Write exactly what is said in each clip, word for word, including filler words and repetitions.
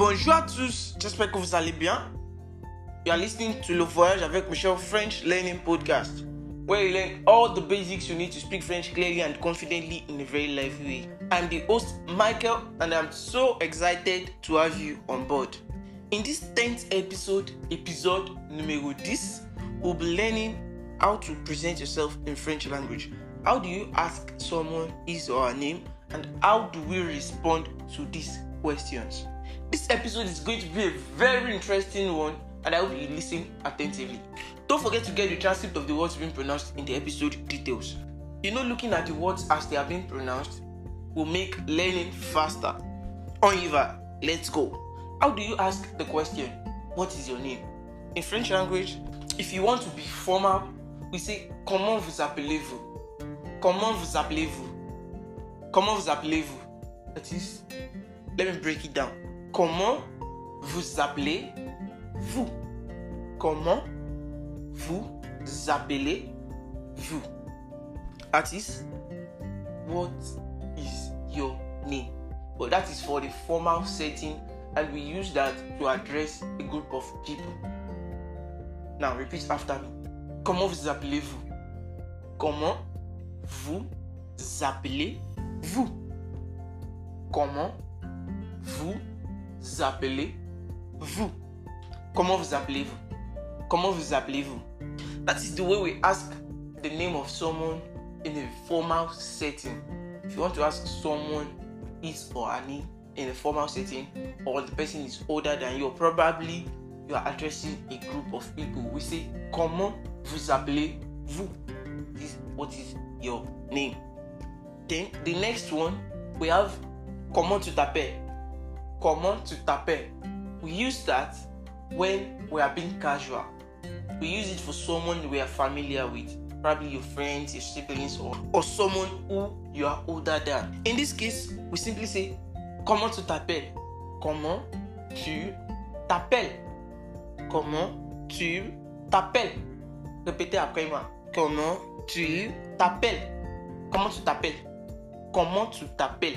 Bonjour à tous, j'espère que vous allez bien. You are listening to Le Voyage avec Michel French Learning Podcast, where you learn all the basics you need to speak French clearly and confidently in a very lively way. I'm the host, Michael, and I'm so excited to have you on board. In this tenth episode, episode numéro dix, we'll be learning how to present yourself in French language. How do you ask someone his or her name, and how do we respond to these questions? This episode is going to be a very interesting one, and I hope you listen attentively. Don't forget to get the transcript of the words being pronounced in the episode details. You know, looking at the words as they are being pronounced will make learning faster. On y va, let's go. How do you ask the question, what is your name? In French language, if you want to be formal, we say, comment vous appelez-vous? Comment vous appelez-vous? Comment vous appelez-vous? That is, let me break it down. Comment vous appelez-vous? Comment vous appelez-vous? That is, what is your name? But that is for the formal setting, and we use that to address a group of people. Now repeat after me. Comment vous appelez-vous? Comment vous appelez-vous? Comment vous appelez-vous? Comment vous appelez-vous? Comment vous appelez-vous? That is the way we ask the name of someone in a formal setting. If you want to ask someone his or her name in a formal setting, or the person is older than you, or probably you are addressing a group of people, we say, comment vous appelez-vous? This, what is your name? Then the next one, we have comment tu t'appelles? Comment tu t'appelles? We use that when we are being casual. We use it for someone we are familiar with, probably your friends, your siblings, or, or someone who you are older than. In this case, we simply say, comment tu t'appelles? Comment tu t'appelles? Comment tu t'appelles? Répétez après moi. Comment tu t'appelles? Comment tu t'appelles? Comment tu t'appelles?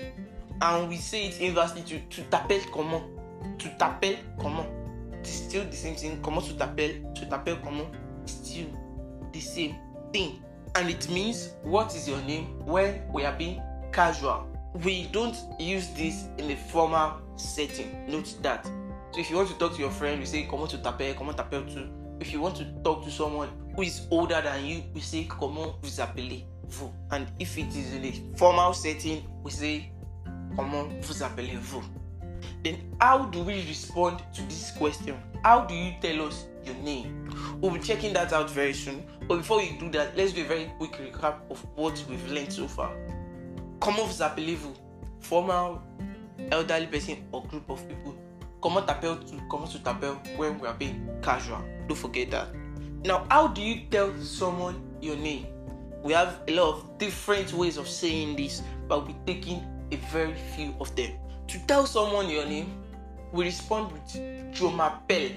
And we say it inversely to tu t'appelles comment? Tu t'appelles comment? It's still the same thing. Comment tu t'appelles? Tu t'appelles comment? Still the same thing. And it means, what is your name, when we are being casual. We don't use this in a formal setting. Note that. So if you want to talk to your friend, we say comment tu t'appelles? Comment t'appelles-tu? If you want to talk to someone who is older than you, we say comment vous appelez-vous? And if it is in a formal setting, we say comment vous appelez-vous? Then how do we respond to this question? How do you tell us your name? We'll be checking that out very soon. But before we do that, let's do a very quick recap of what we've learned so far. Comment vous appelez-vous? Formal, elderly person or group of people. Comment t'appelles-tu? Comment tu t'appelles when we are being casual? Don't forget that. Now, how do you tell someone your name? We have a lot of different ways of saying this, but we'll be taking a very few of them. To tell someone your name, we respond with je m'appelle.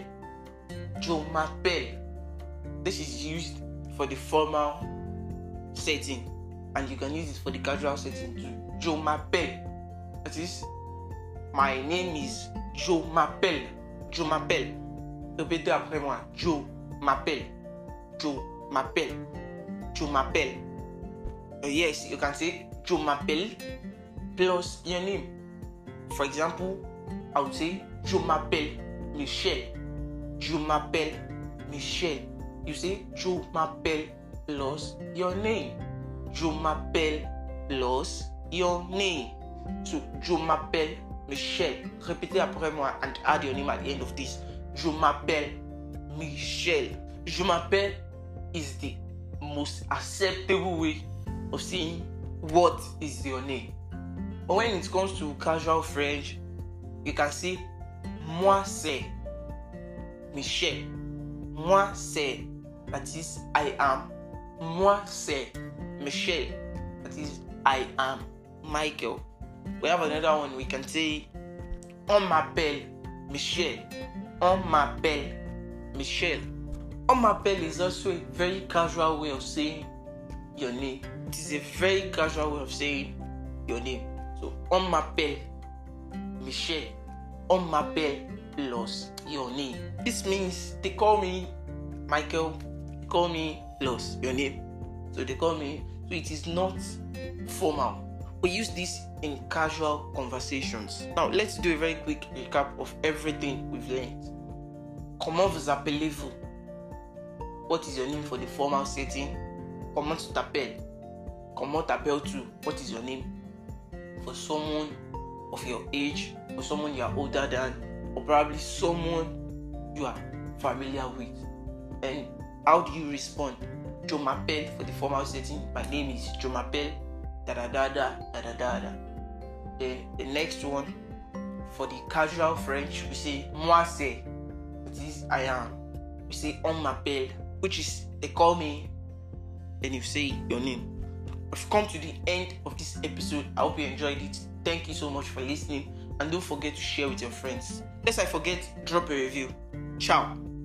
Je m'appelle. This is used for the formal setting, and you can use it for the casual setting too. Je m'appelle. That is, my name is Je m'appelle. Je m'appelle. Répétez après moi. Je m'appelle. Je m'appelle. Je m'appelle. Uh, yes, you can say je m'appelle plus your name. For example, I would say je m'appelle Michel. Je m'appelle Michel. You say je m'appelle plus your name. Je m'appelle plus your name. So je m'appelle Michel. Répétez après moi and add your name at the end of this. Je m'appelle Michel. Je m'appelle is the most acceptable way of saying what is your name. But when it comes to casual French, you can say moi c'est Michel. Moi c'est, that is I am. Moi c'est Michel. That is I am Michael. We have another one. We can say on m'appelle Michel. On m'appelle Michel. On m'appelle is also a very casual way of saying your name. It is a very casual way of saying your name. So on m'appelle Michel. on m'appelle plus your name. This means they call me Michael, they call me plus your name. So they call me, so it is not formal. We use this in casual conversations. Now let's do a very quick recap of everything we've learned. Comment vous appelez-vous? What is your name for the formal setting? Comment tu t'appelles? Comment t'appelles-tu? What is your name for someone of your age, or someone you are older than, or probably someone you are familiar with? And how do you respond? Je m'appelle for the formal setting. My name is Je m'appelle da da da da da da da da. Then the next one, for the casual French, we say moi c'est, which is I am. We say on m'appelle, which is they call me, and you say your name. We've come to the end of this episode. I hope you enjoyed it. Thank you so much for listening, and don't forget to share with your friends. Lest I forget, drop a review. Ciao.